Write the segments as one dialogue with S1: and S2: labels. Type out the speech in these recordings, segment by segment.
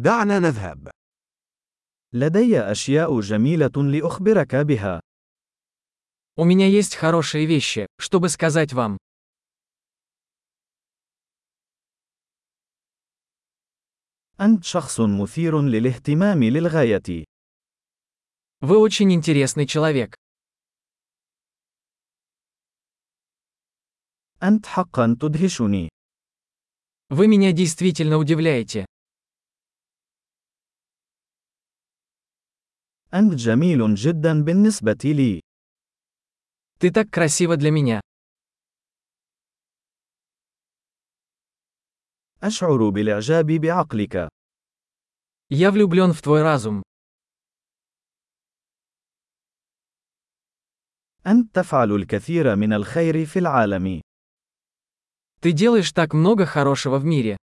S1: دعنا نذهب.
S2: لدي أشياء جميلة لأخبرك بها.
S3: У меня есть хорошие вещи, чтобы сказать вам.
S2: أنت شخص مثير للاهتمام للغاية.
S3: Вы очень интересный человек.
S2: أنت حقا تدهشني.
S3: Вы меня действительно удивляете.
S2: أنت جميل جدا بالنسبة لي.
S3: Ты так красива для меня.
S2: أشعر بالإعجاب بعقلك.
S3: Я влюблен в твой разум.
S2: أنت تفعل الكثير من الخير في العالم.
S3: Ты делаешь так много хорошего в мире.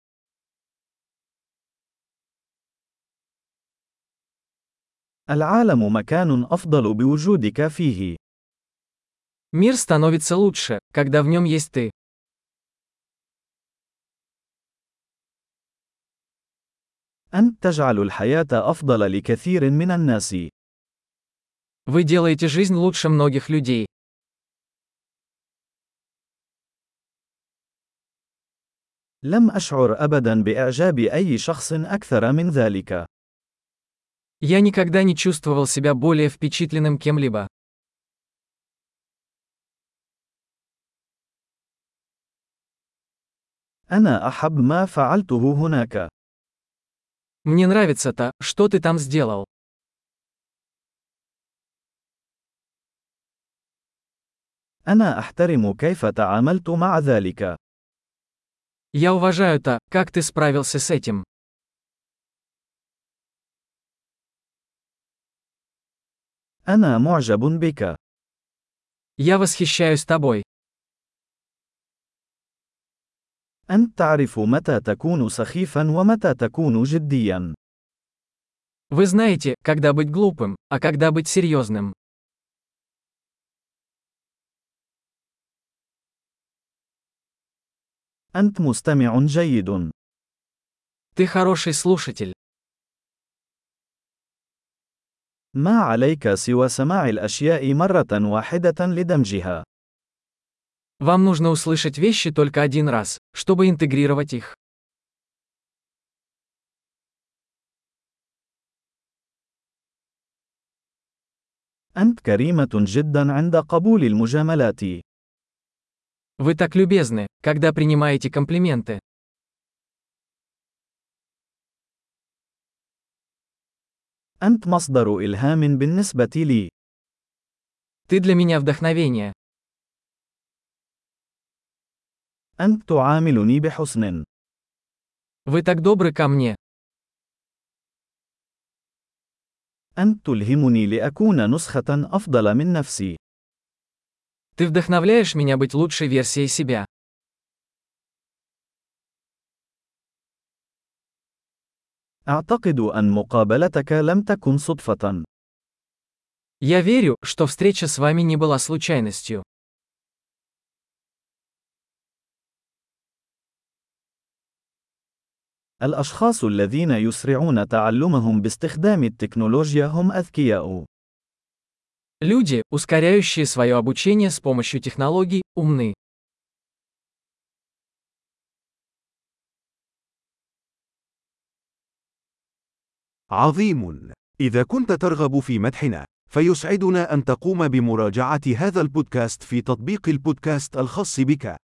S2: العالم مكان أفضل بوجودك فيه.
S3: Мир становится лучше, когда в нем есть ты.
S2: أنت تجعل الحياة أفضل لكثير من الناس.
S3: Вы делаете жизнь лучше многих людей.
S2: لم أشعر أبدا بإعجاب أي شخص أكثر من ذلك.
S3: Я никогда не чувствовал себя более впечатленным кем-либо.
S2: أنا أحب ما فعلته هناك.
S3: Мне нравится то, что ты там сделал.
S2: أنا أحترم كيف تعاملت مع ذلك.
S3: Я уважаю то, как ты справился с этим.
S2: أنا معجب بك.
S3: Я восхищаюсь тобой.
S2: أنت تعرف متى تكون سخيفا ومتى تكون جديا.
S3: Вы знаете, когда быть глупым, а когда быть серьезным.
S2: أنت مستمع جيد.
S3: Ты хороший слушатель.
S2: ما عليك سوى سماع الأشياء مرة واحدة لدمجها.
S3: Вам нужно услышать вещи только один раз, чтобы интегрировать их.
S2: أنت كريمة جدا عند قبول المجاملات.
S3: Вы так любезны, когда принимаете комплименты.
S2: أنت مصدر إلهام بالنسبة لي.
S3: Ты для меня вдохновение.
S2: أنت تعاملني بحسن.
S3: Вы так добры ко мне.
S2: أنت تلهمني لأكون نسخة أفضل من نفسي.
S3: Ты вдохновляешь меня быть лучшей версией себя.
S2: أعتقد أن مقابلتك لم تكن صدفة.
S3: Я верю, что встреча с вами не была случайностью.
S2: الأشخاص الذين يسرعون تعلمهم باستخدام التكنولوجيا هم أذكياء.
S3: Люди, ускоряющие свое обучение с помощью технологий, умны.
S1: عظيم. إذا كنت ترغب في مدحنا، فيسعدنا أن تقوم بمراجعة هذا البودكاست في تطبيق البودكاست الخاص بك.